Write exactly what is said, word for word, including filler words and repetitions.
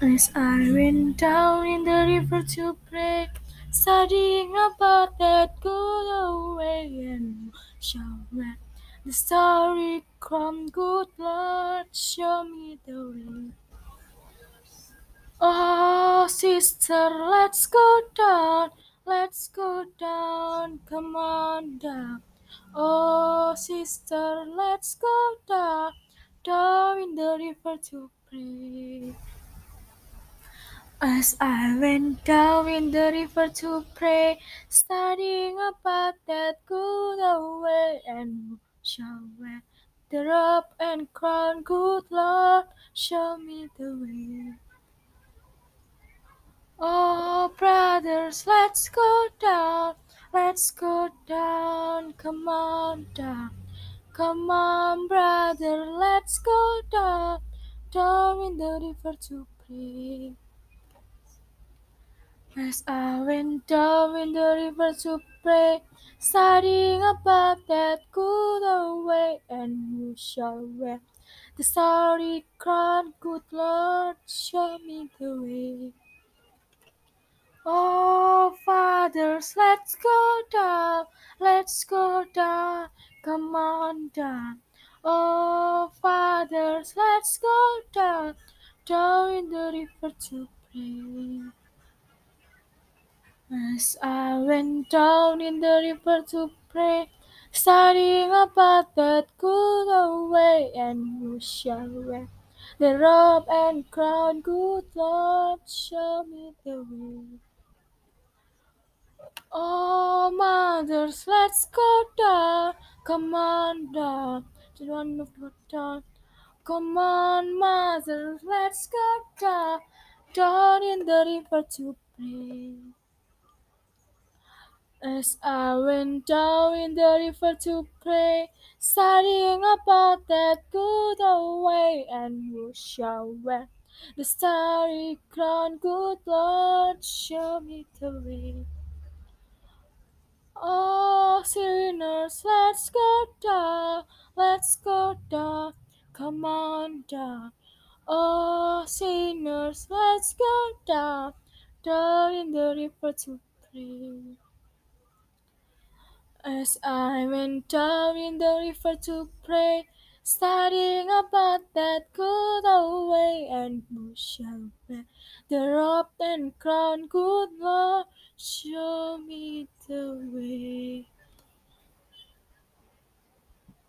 As I went down in the river to pray, studying about that good old way and shall read the story come, good Lord, show me the way. Oh, sister, let's go down, let's go down, come on down. Oh, sister, let's go down, down in the river to pray. As I went down in the river to pray, studying about that good old way, and shall wear the robe and crown, good Lord, show me the way. Oh, brothers, let's go down, let's go down, come on down. Come on, brother, let's go down, down in the river to pray. As I went down in the river to pray, studying about that good old way, and who shall wear the starry crown, good Lord, show me the way. Oh, fathers, let's go down, let's go down, come on down. Oh, fathers, let's go down, down in the river to pray. As I went down in the river to pray, studying about that good old way, and who shall wear the robe and crown, good Lord, show me the way. Oh, mothers, let's go down, come on down, to one of the town. Come on, mothers, let's go down, down in the river to pray. As I went down in the river to pray, studying about that good old way, and who shall wear the starry crown, good Lord, show me the way. Oh, sinners, let's go down, let's go down, come on down. Oh, sinners, let's go down, down in the river to pray. As I went down in the river to pray, studying about that good old way, and who shall wear the robe and crown, good Lord, show me the way.